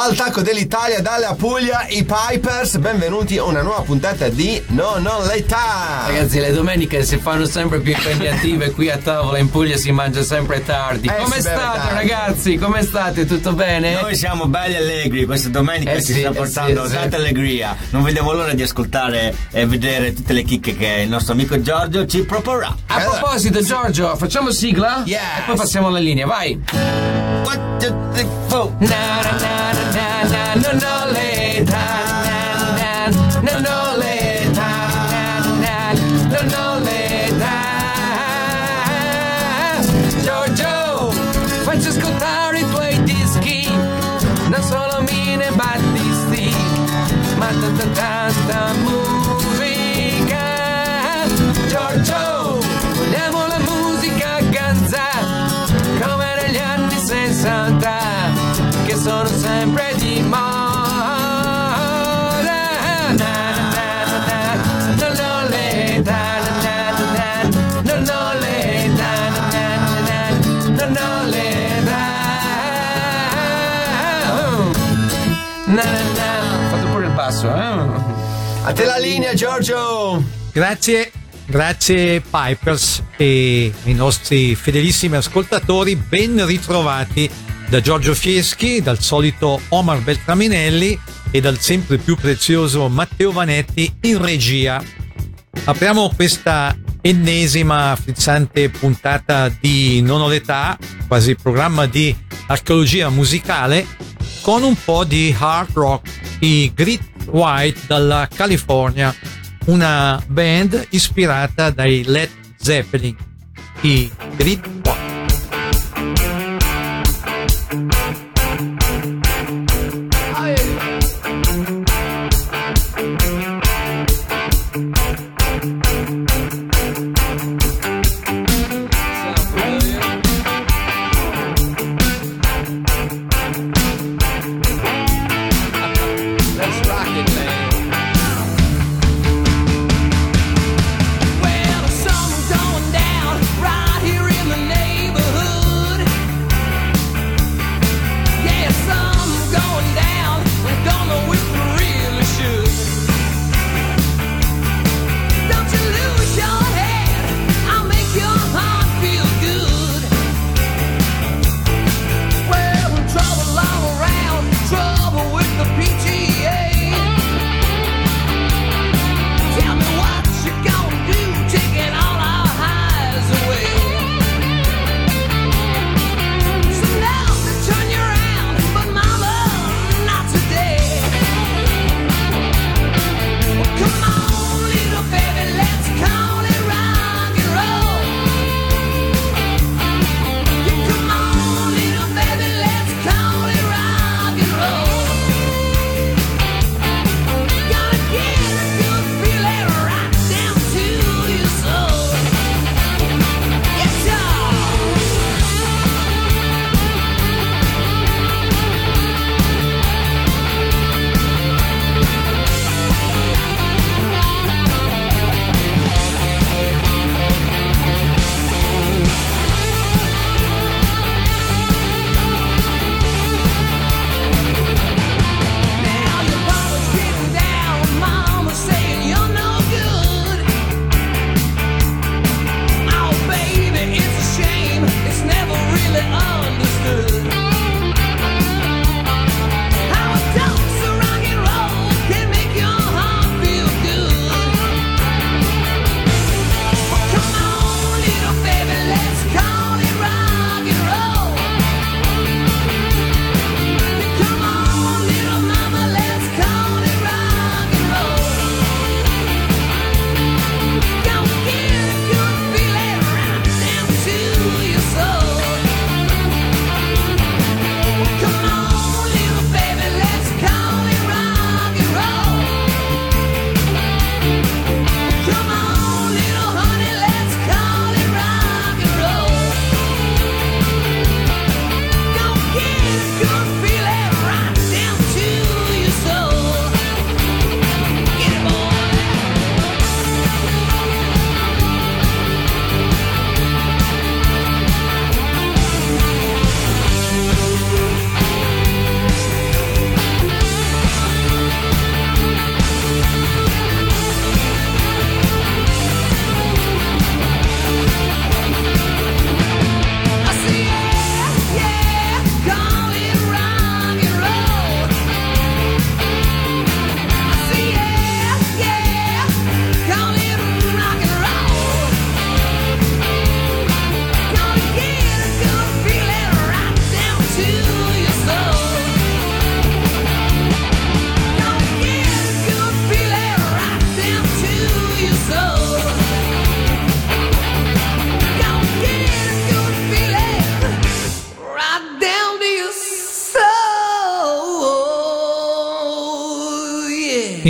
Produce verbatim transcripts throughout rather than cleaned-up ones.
Dal tacco dell'Italia, dalla Puglia, i Pipers. Benvenuti a una nuova puntata di Non Non l'età. Ragazzi, le domeniche si fanno sempre più impegnative. Qui a tavola in Puglia si mangia sempre tardi. Eh, Come state, tardi. ragazzi? Come state? Tutto bene? Noi siamo belli allegri. Questa domenica eh ci sì, sta portando eh sì, tanta sì. allegria. Non vediamo l'ora di ascoltare e vedere tutte le chicche che il nostro amico Giorgio ci proporrà. A proposito, Giorgio, facciamo sigla? Yes. E poi passiamo alla linea, vai. One, two, three, four. Na na na na na na no l'età. Na na na no l'età. Na na no l'età. Giorgio, facci ascoltare i tuoi dischi. Non solo mine battisti, ma tanta tanta musica. Giorgio, vogliamo la musica ganza come negli anni sessanta, che sono sempre di moda. Na, na, na, na, non ho l'età, na, na, na, non ho l'età, na, na, na, non ho l'età. Oh. Na, na, na. Ho fatto pure il basso, eh? A te la linea, Giorgio. Grazie, grazie Pipers e i nostri fedelissimi ascoltatori, ben ritrovati da Giorgio Fieschi, dal solito Omar Beltraminelli e dal sempre più prezioso Matteo Vanetti in regia. Apriamo questa ennesima frizzante puntata di Non ho l'età, quasi programma di archeologia musicale, con un po' di hard rock, i Great White dalla California, una band ispirata dai Led Zeppelin, i Great White. Well, the sun was going down right here in the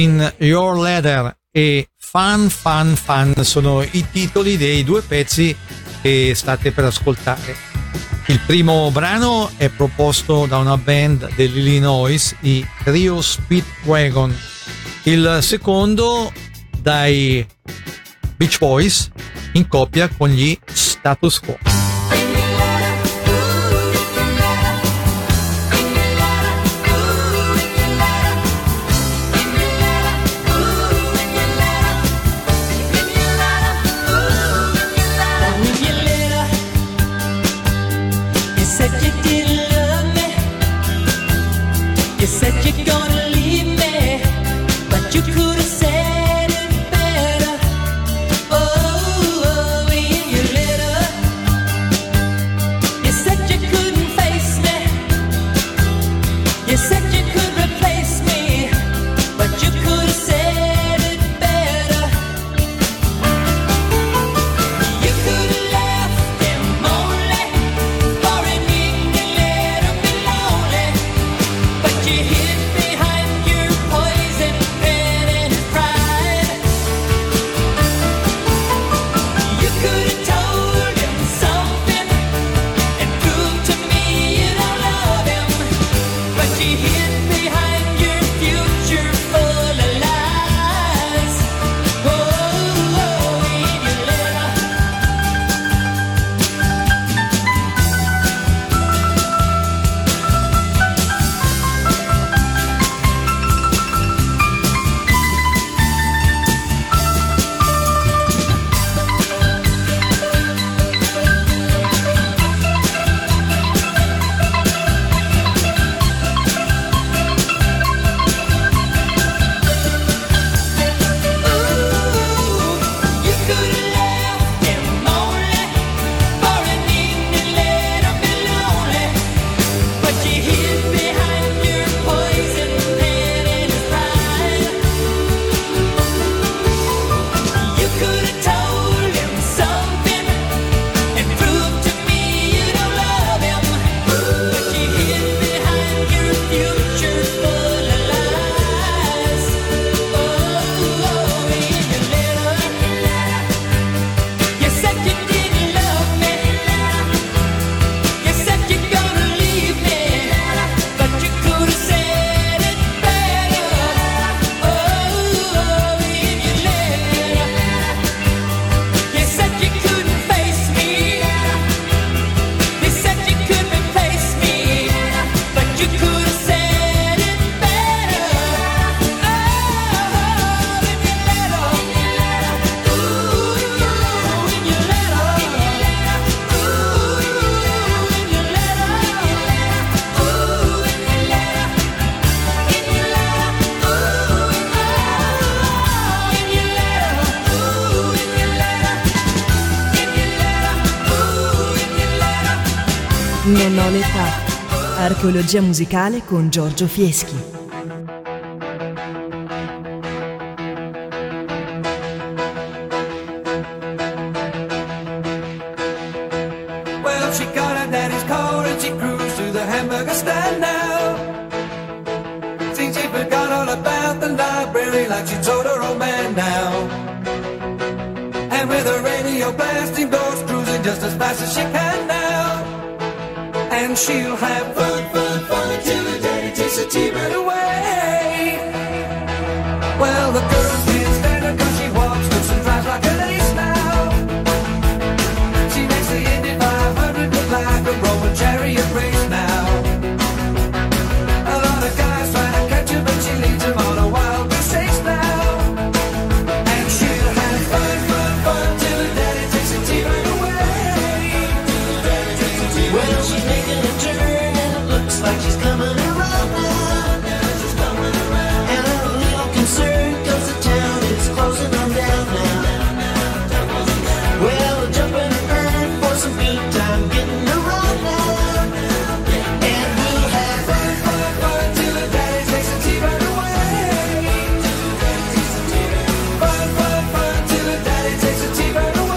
in Your Letter e Fun Fun Fun sono i titoli dei due pezzi che state per ascoltare. Il primo brano è proposto da una band dell'Illinois, i Trio Speedwagon. Il secondo dai Beach Boys in coppia con gli Status Quo. Non ho l'età. Archeologia musicale con Giorgio Fieschi. Well, she got her daddy's car and she cruised to the hamburger stand now. Since she forgot all about the library like she told her old man now. And with her radio blasting goes cruising just as fast as she can now. And she'll have fun, fun, fun till her daddy takes her T-bird away. Well, the girls can't stand her cause she walks loose and drives like an ace now. She makes the Indy five hundred look like a Roman chariot race now. A lot of guys try to catch her but she leads them on a wild goose chase now. And she'll have fun, fun, fun till her daddy takes her T-bird away. Well, she's making a turn and it looks like she's coming around now. She's coming around. And I'm a little concerned cause the town is closing on down now. Well, we're jumping around for some good time getting around now. And we'll have fun, fun, fun till the daddy takes the T-bird away. Fun, fun, fun till the daddy takes the T-bird away.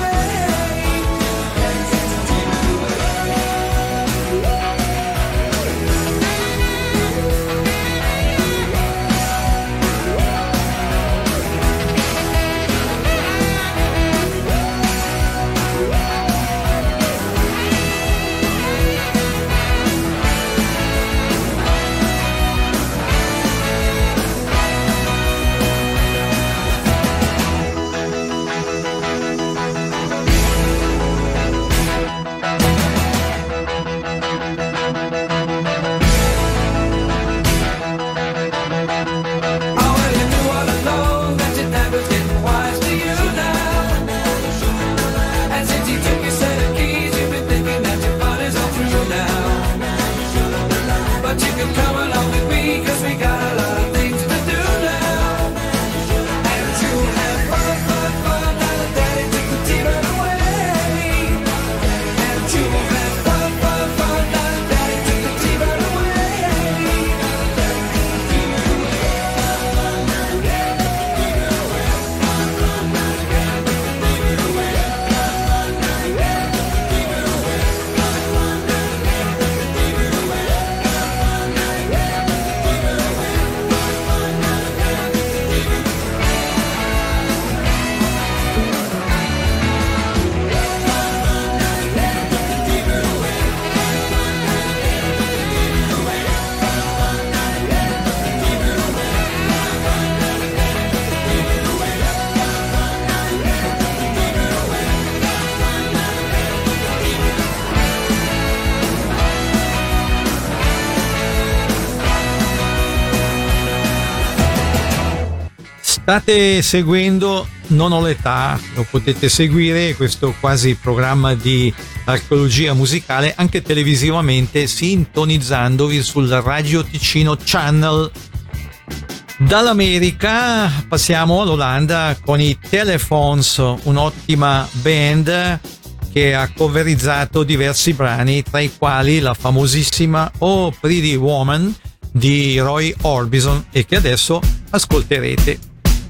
State seguendo Non ho l'età, lo potete seguire questo quasi programma di archeologia musicale anche televisivamente, sintonizzandovi sul Radio Ticino Channel. Dall'America passiamo all'Olanda con i Telephones, un'ottima band che ha coverizzato diversi brani, tra i quali la famosissima Oh Pretty Woman di Roy Orbison, e che adesso ascolterete.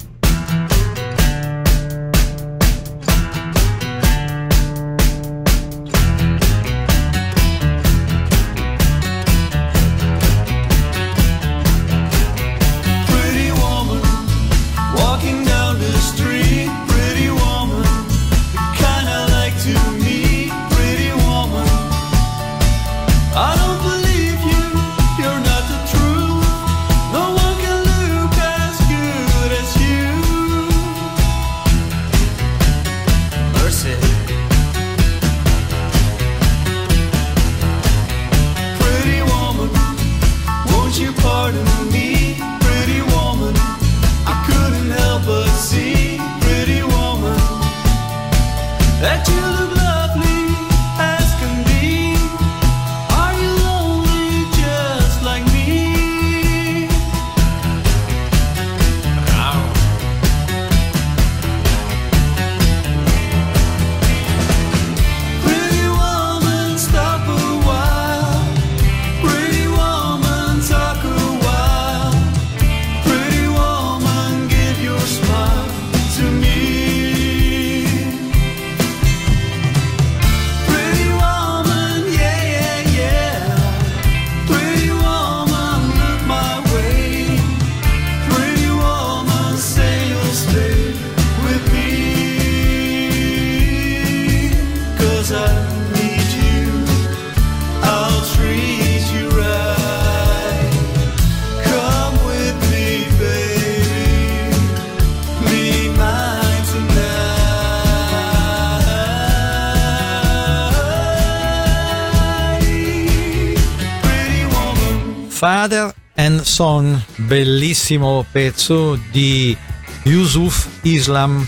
Father and Son, bellissimo pezzo di Yusuf Islam,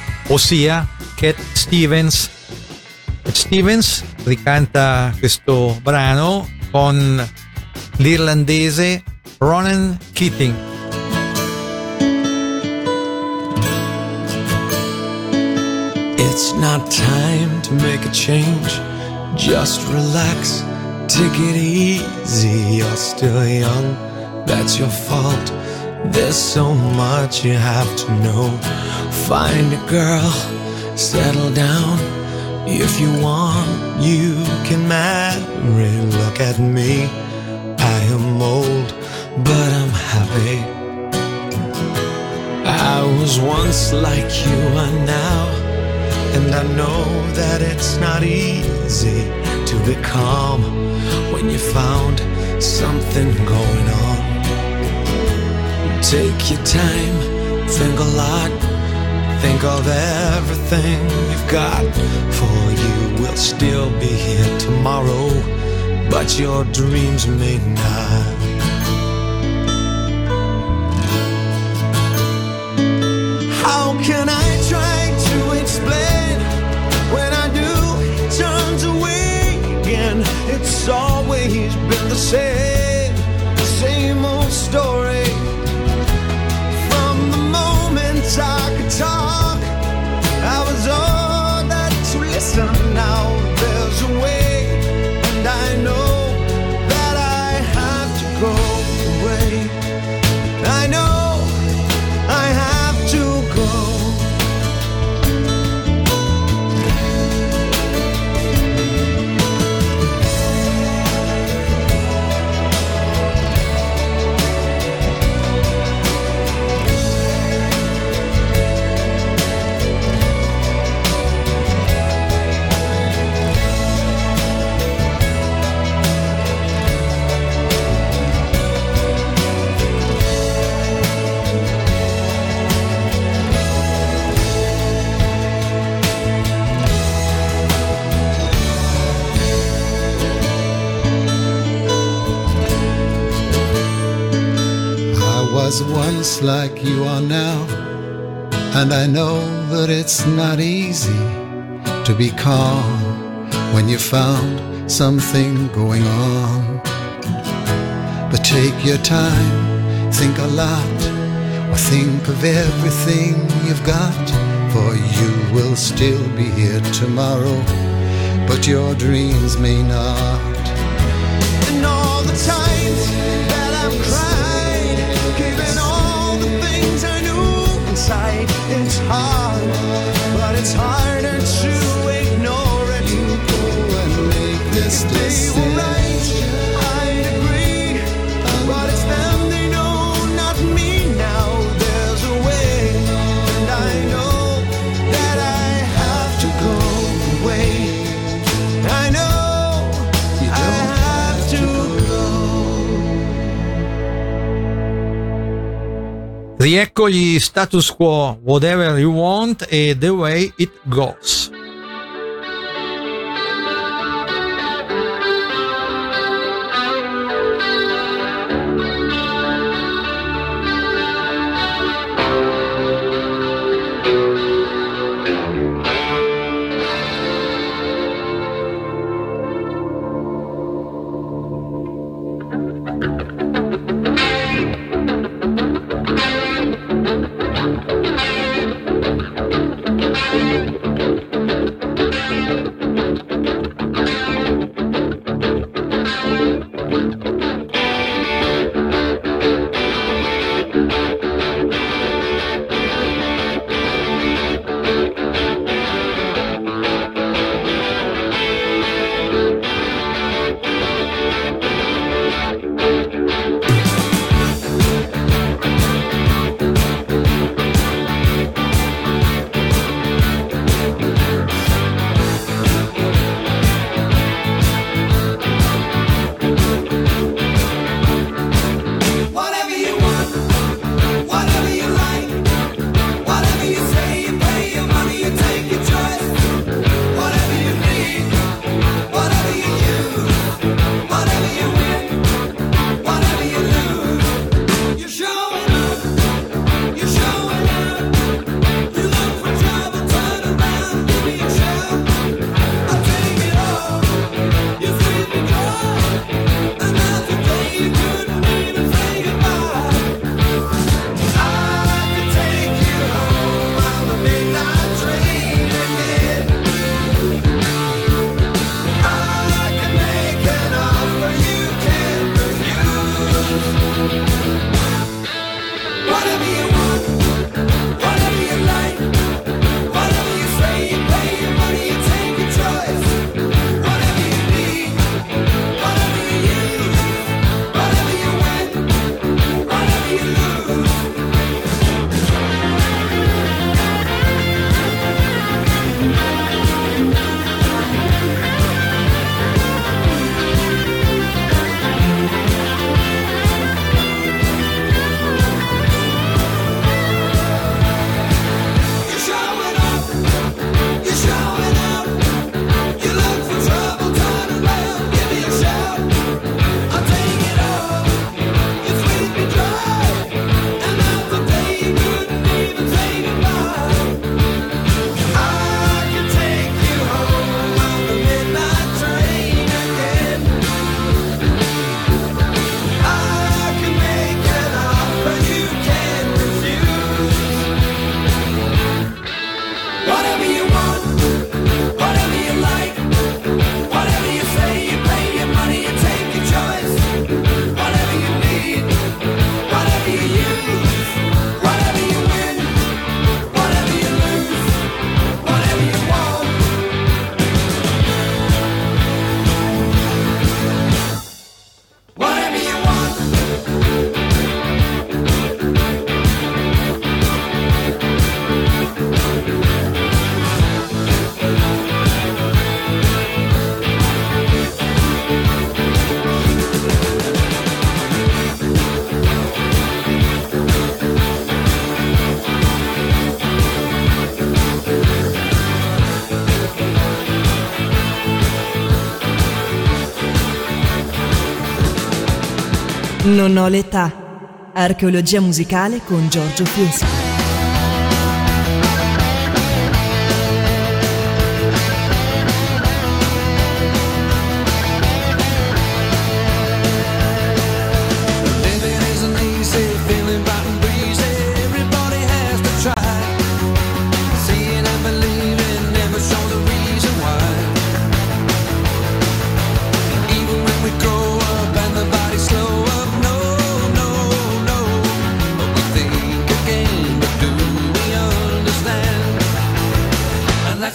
ossia Cat Stevens. Cat Stevens ricanta questo brano con l'irlandese Ronan Keating. It's not time to make a change, just relax. Take it easy, you're still young, that's your fault. There's so much you have to know. Find a girl, settle down. If you want, you can marry. Look at me, I am old, but I'm happy. I was once like you are now, and I know that it's not easy to be calm when you found something going on. Take your time, think a lot, think of everything you've got. For you will still be here tomorrow, but your dreams may not. How can I try to explain when I do it turns away again? It's always been the same, same old story. From the moment I could talk, I was all that to listen. Now there's a way, and I know that I have to go away. I know I have to go. Was once like you are now, And I know that it's not easy to be calm when you found something going on. But take your time, think a lot, or think of everything you've got, for you will still be here tomorrow, but your dreams may not. And all the times that I've cried, given all the things I knew inside, it's hard, but it's harder to ignore it. Go and make this day right, I'd agree, but it's them, they know, not me now. There's a way, and I know that I have to go away. I know I have to go. Riecco gli Status Quo, Whatever You Want e The Way It Goes. Non ho l'età. Archeologia musicale con Giorgio Fieschi.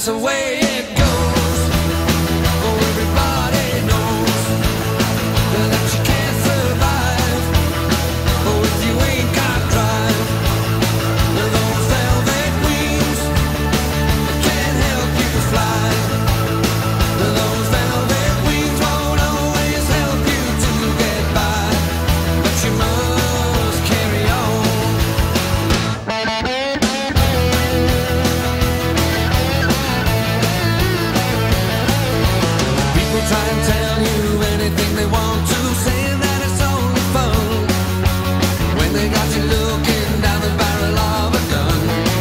that's the way it goes. Oh, everybody knows that you can't survive. Oh, if you ain't got drive. Those velvet wings can't help you fly. Those velvet wings won't always help you to get by, but you must carry on. People try and tell you anything they want to, saying that it's only fun, when they got you looking down the barrel of a gun.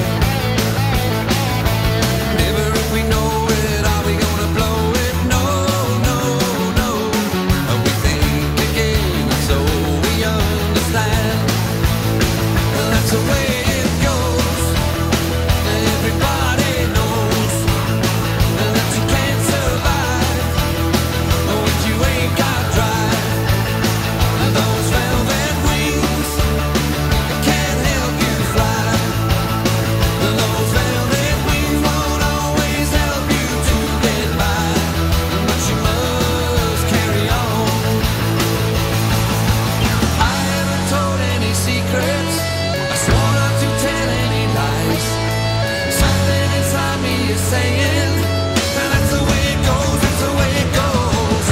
Never if we know it, are we gonna blow it? No, no, no. We think again, so we understand. That's the way it goes. Everybody knows that you can't survive if you ain't got drive. Those velvet wings can't help you fly. Those velvet wings won't always help you to get by, but you must carry on. I haven't told any secrets, I swore not to tell any lies. Something inside me is saying that's the way it goes, that's the way it goes.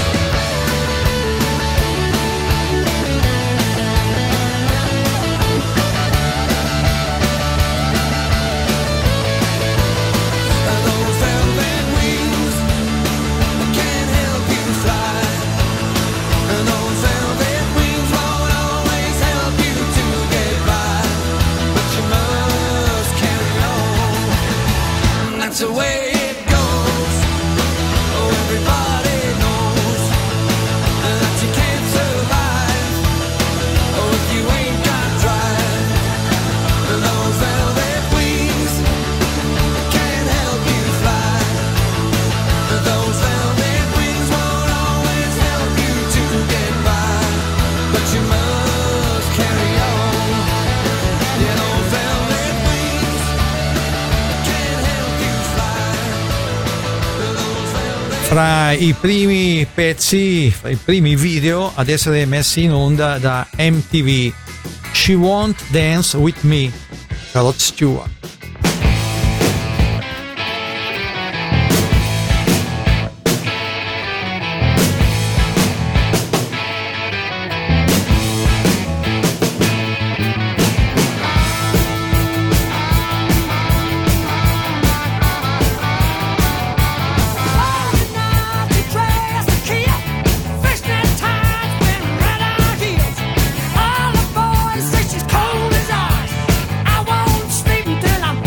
Those velvet wings can't help you fly. Those velvet wings won't always help you to get by, but you must carry on. That's the way it goes. Oh, everybody knows that you can't survive. Oh, if you ain't got drive. Those velvet wings can't help you fly. Those velvet wings won't always help you to get by, but you must carry on. Yeah, those velvet wings can't help you fly. Those velvet Fra i primi pezzi, fra i primi video ad essere messi in onda da M T V, She Won't Dance With Me, Rod Stewart. All the boys say she's cold as ice. I won't sleep until I'm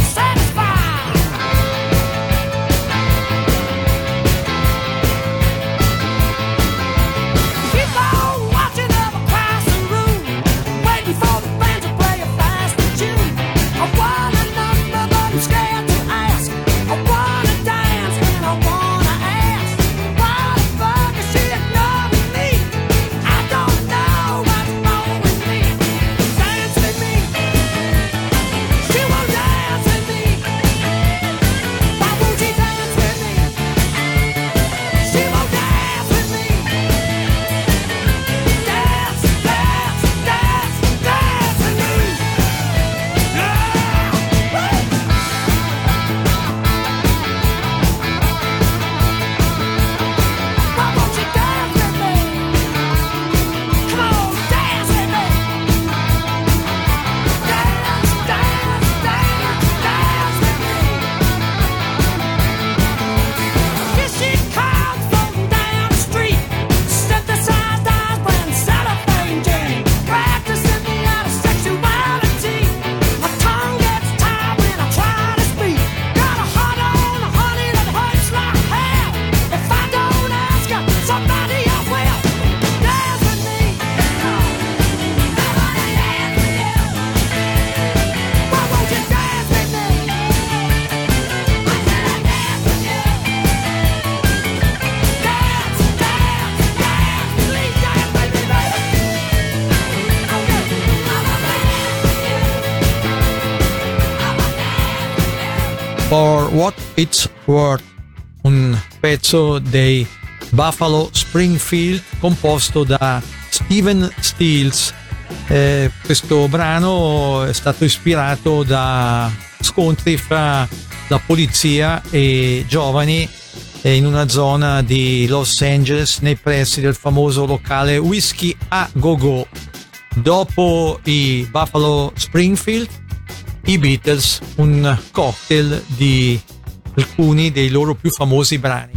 For What It's Worth, un pezzo dei Buffalo Springfield composto da Stephen Stills. Eh, questo brano è stato ispirato da scontri fra la polizia e giovani in una zona di Los Angeles nei pressi del famoso locale Whisky a Go Go. Dopo i Buffalo Springfield, i Beatles, un cocktail di alcuni dei loro più famosi brani.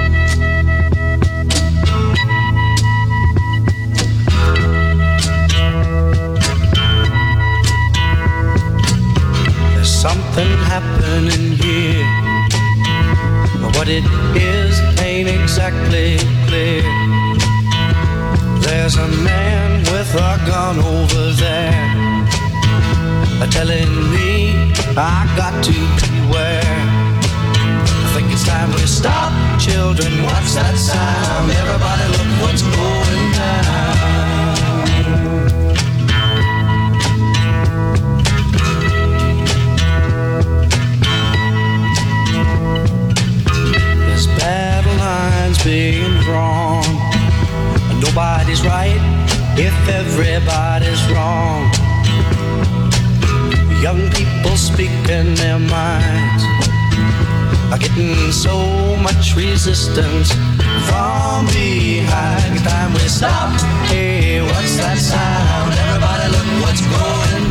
There's something happening here, but what it is ain't exactly clear. There's a man with a gun over there, telling me I got to beware. I think it's time we stop, children, what's that sound? Everybody look what's going down. There's battle lines being drawn, and nobody's right if everybody's wrong. Young people speaking their minds are getting so much resistance from behind. It's time we stop. Hey, what's that sound? Everybody look what's going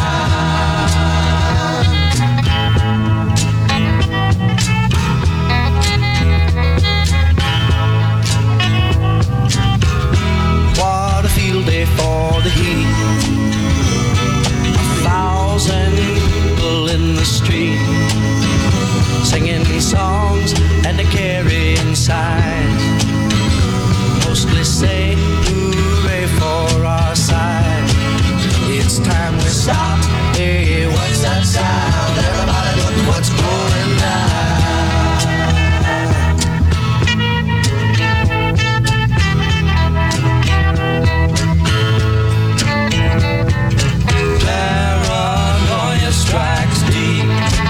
down. What a field day for the heat. Thousand people in the street singing songs and carrying signs, mostly say hooray for our side. It's time we stop. Hey, what's that sound? Everybody look what's going down. Strikes deep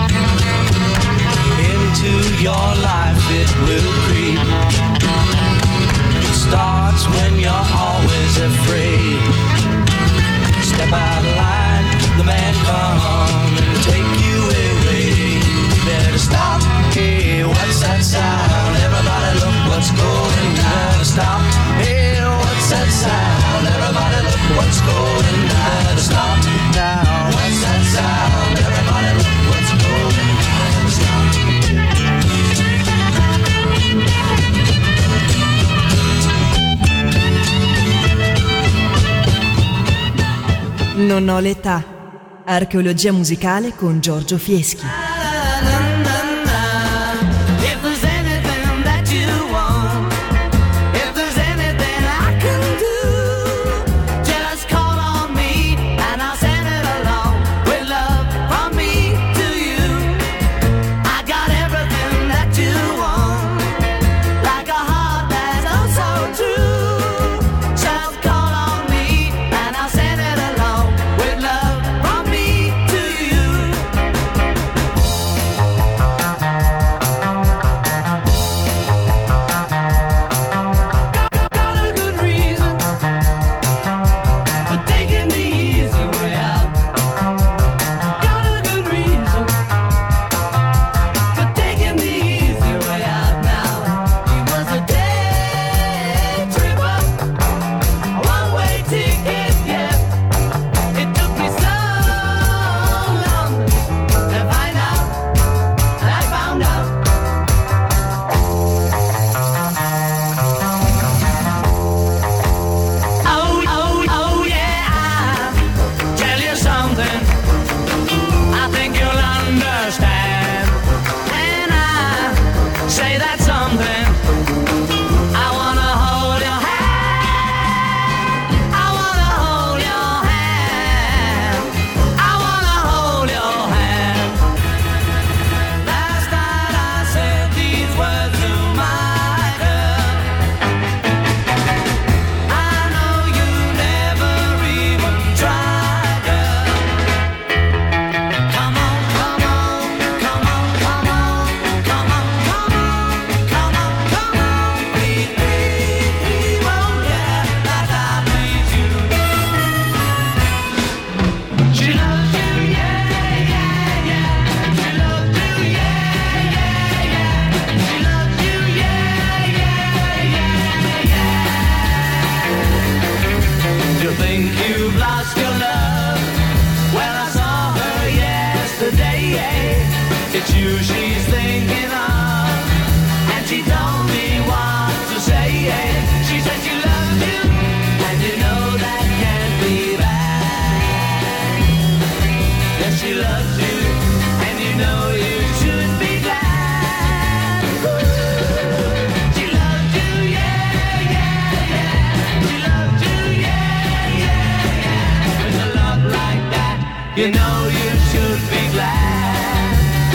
into your life, it will creep. It starts when you're always afraid. Step out of line, the man come and take you away. You better stop. Hey, what's that sound? Everybody look what's going down. Stop. Hey, what's that sound? Everybody look what's going down. Stop now. What's that sound? Everybody look what's going down. Stop. Non ho l'età. Archeologia musicale con Giorgio Fieschi. It's you she's thinking of, and she told me what to say. She said she loves you, and you know that can't be bad. Yes, she loves you, and you know you should be glad. She loves you, yeah, yeah, yeah. She loves you, yeah, yeah, yeah. With a love like that, you know you should be glad.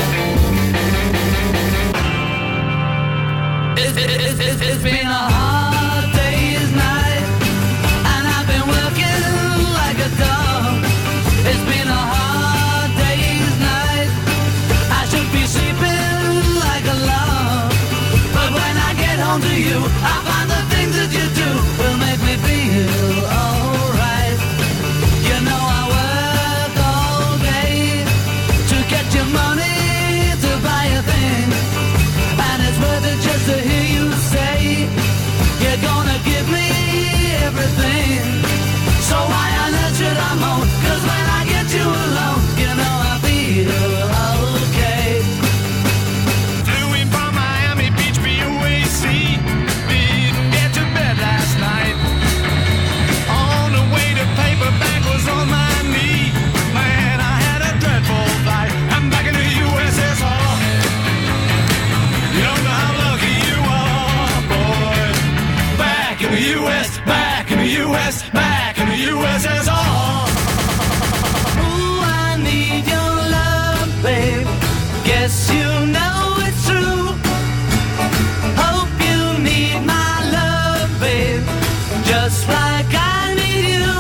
It's, it's, it's, it's been a hard day's night, and I've been working like a dog. It's been a hard day's night, I should be sleeping like a log. But when I get home to you, I find the things that you do will make me feel alright. You know I work all day to get your money to buy a thing, and it's worth it just to hear you say you're gonna give me everything. So why on earth should I moan? 'Cause when I get you alone, you know I feel okay. Flew in from Miami Beach, B U A C. Didn't get to bed last night. On the way to paperback was on my knee. Man, I had a dreadful fight. I'm back in the U S S R. You don't know how lucky you are, boy. Back in the U S, back in the U S, back in the U S S R. Ooh, I need your love, babe. Guess you know it's true. Hope you need my love, babe, just like I need you.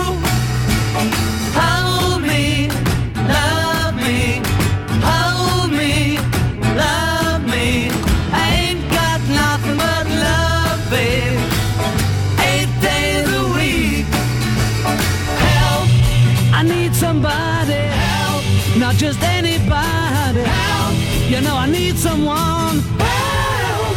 Hold me, love me, hold me, love me. I ain't got nothing but love, babe, eight days a week. Help, I need somebody. Help, not just anybody. Help, you know I need someone. Help.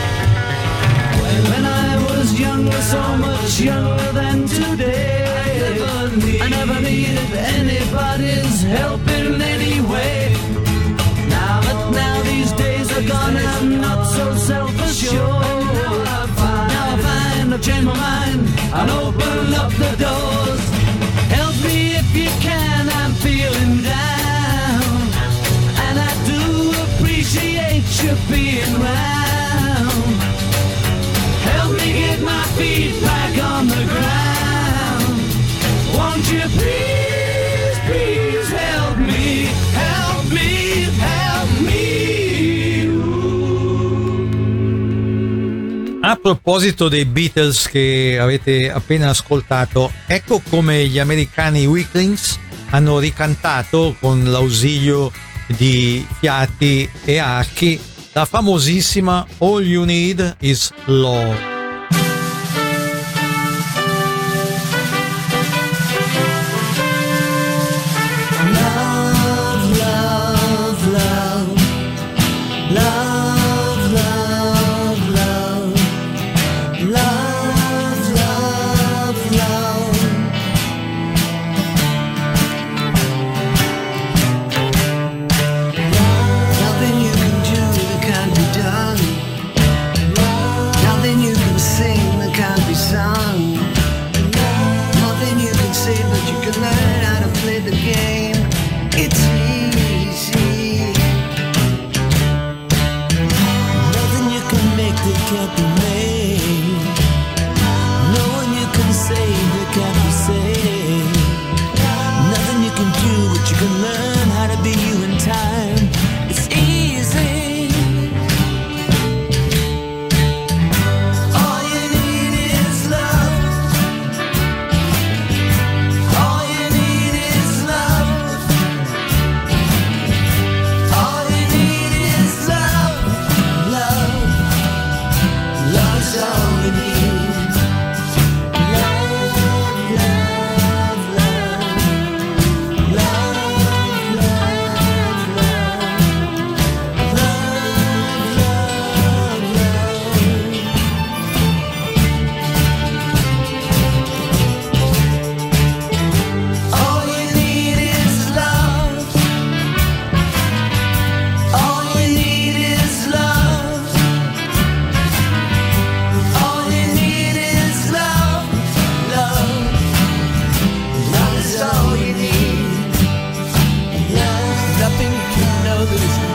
When I was younger, so much younger than today, I never, need, I never needed anybody's help in any way. Now that now these days are gone, I'm not so self-assured. Now I find, now I find I've changed my mind and open up the doors. Help me if you can, I'm feeling down, and I do appreciate you being round. Help me get my feet back on the ground. Won't you please, please help me, help me, help me. A proposito dei Beatles che avete appena ascoltato, ecco come gli americani Weaklings hanno ricantato con l'ausilio di fiati e archi la famosissima All You Need Is Love. Nothing you can do that can't be done. Nothing you can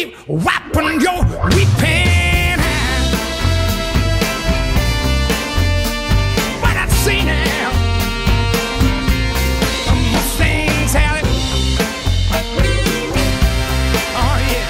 keep wiping your weeping eye. What I see now, a Mustang Sally. Oh yeah.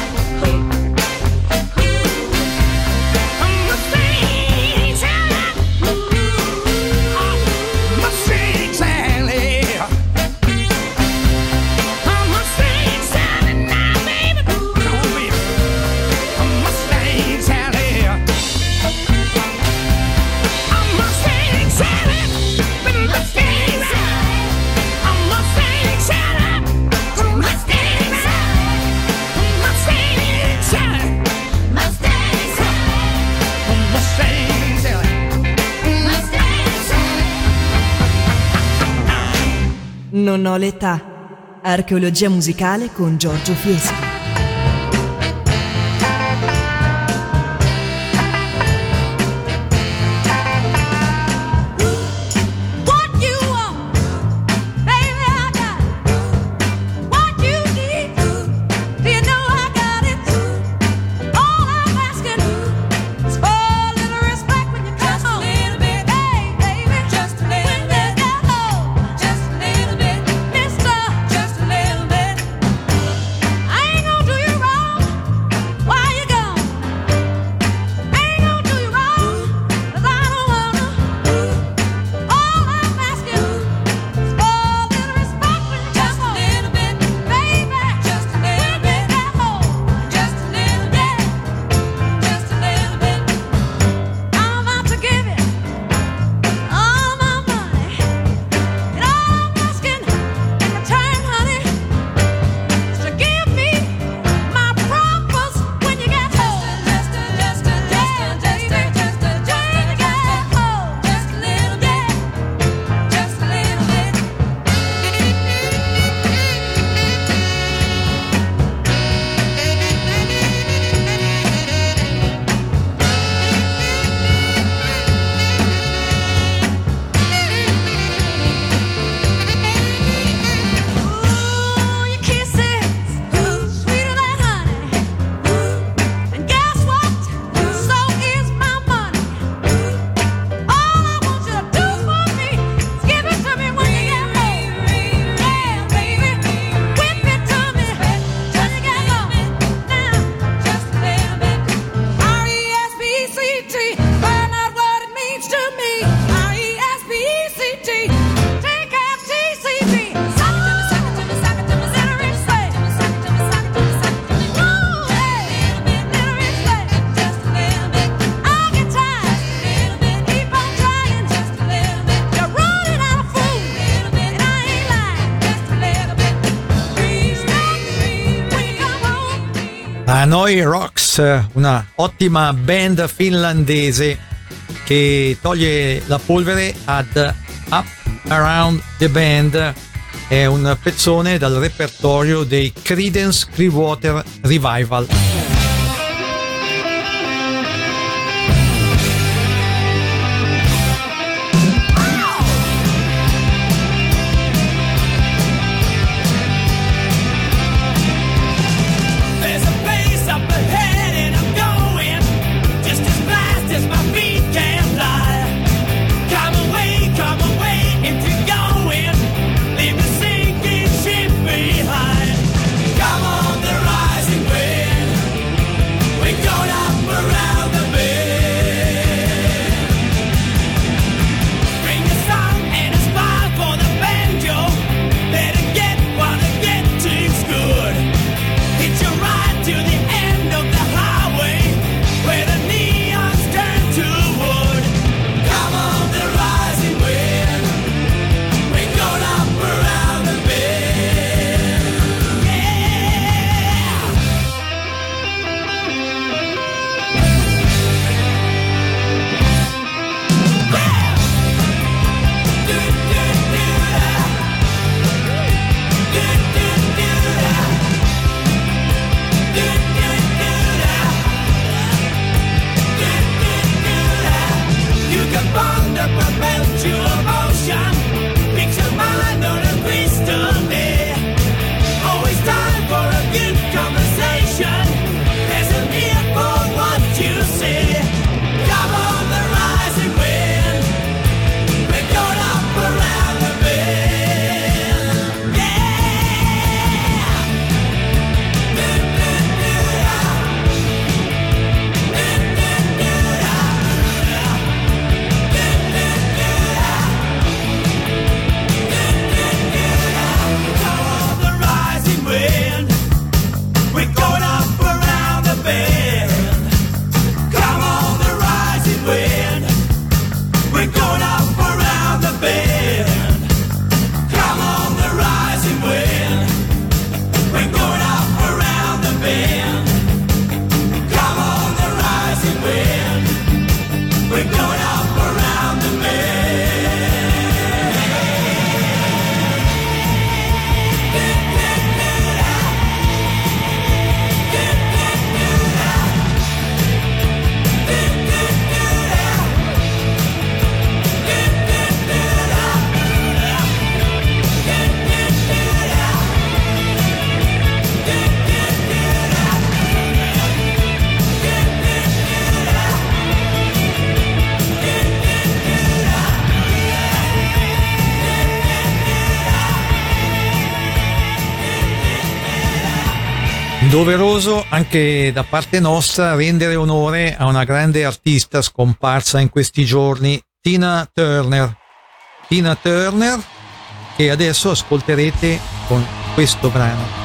Non ho l'età. Archeologia musicale con Giorgio Fieschi. Hanoi Rocks, una ottima band finlandese che toglie la polvere ad Up Around the Band. È un pezzone dal repertorio dei Creedence Clearwater Revival. Come on, the rising wind. Doveroso anche da parte nostra rendere onore a una grande artista scomparsa in questi giorni, Tina Turner. Tina Turner, che adesso ascolterete con questo brano.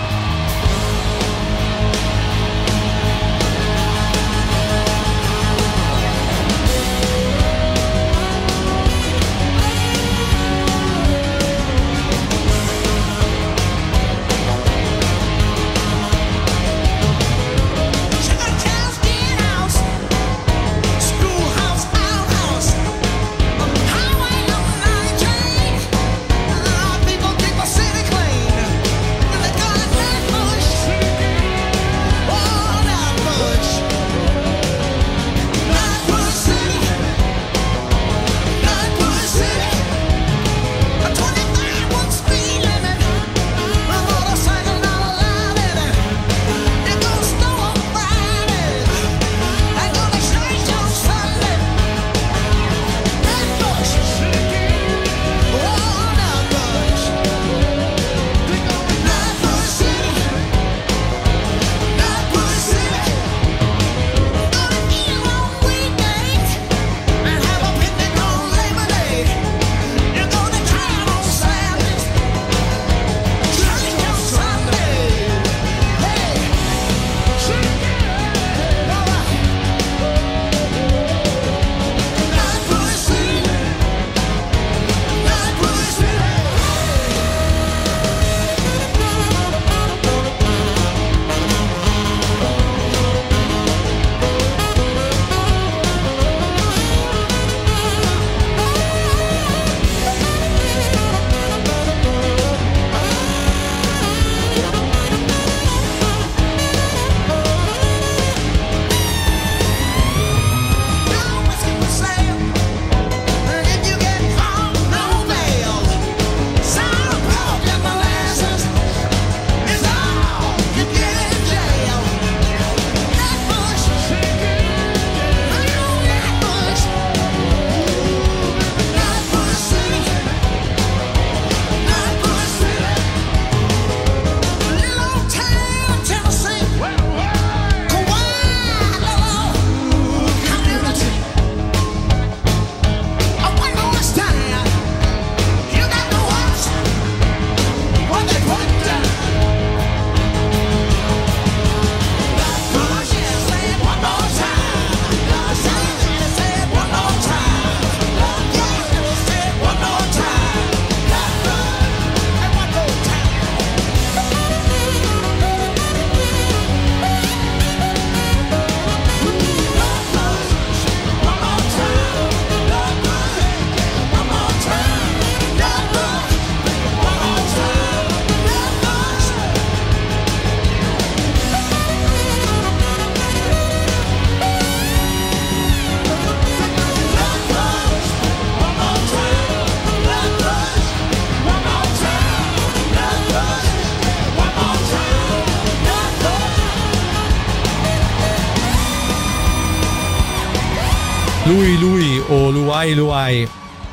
Lui Lui o Luai Luai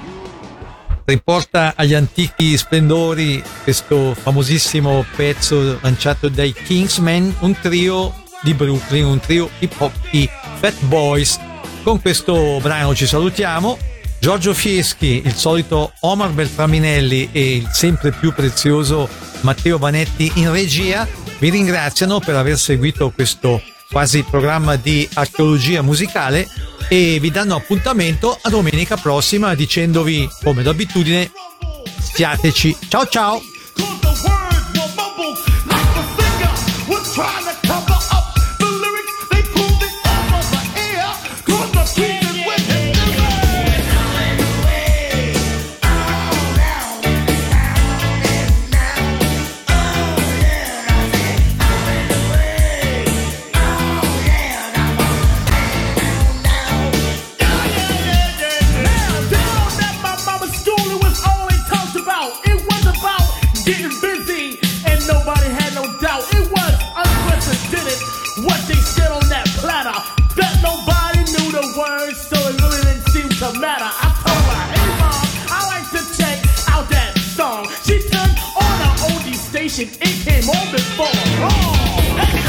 riporta agli antichi splendori questo famosissimo pezzo lanciato dai Kingsmen, un trio di Brooklyn, un trio hip hop, i Fat Boys. Con questo brano ci salutiamo. Giorgio Fieschi, il solito Omar Beltraminelli e il sempre più prezioso Matteo Vanetti in regia vi ringraziano per aver seguito questo quasi programma di archeologia musicale e vi danno appuntamento a domenica prossima dicendovi, come d'abitudine, stiateci. Ciao ciao! Matter. I told her, hey mom, I like to check out that song. She turned on her oldie station, it came on before. Oh, hey.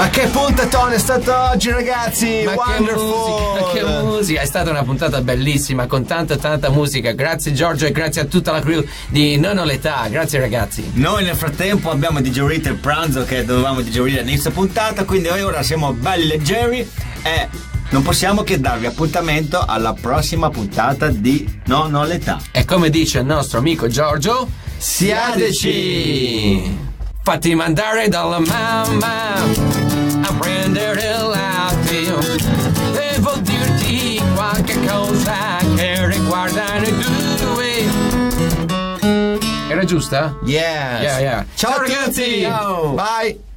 Ma che puntatone è stato oggi, ragazzi! Ma che Wonderful! musica, che musica! È stata una puntata bellissima con tanta tanta musica. Grazie Giorgio e grazie a tutta la crew di Non ho l'età. Grazie ragazzi. Noi nel frattempo abbiamo digerito il pranzo che dovevamo digerire all'inizio puntata, quindi noi ora siamo belli leggeri e non possiamo che darvi appuntamento alla prossima puntata di Non ho l'età. E come dice il nostro amico Giorgio, siateci! Fatti mandare dalla mamma a prendere il latte. Devo dirti qualche cosa che riguarda noi due. Era giusta? Yes. Yeah, yeah. Ciao, Ciao a tutti. ragazzi! Ciao. Bye!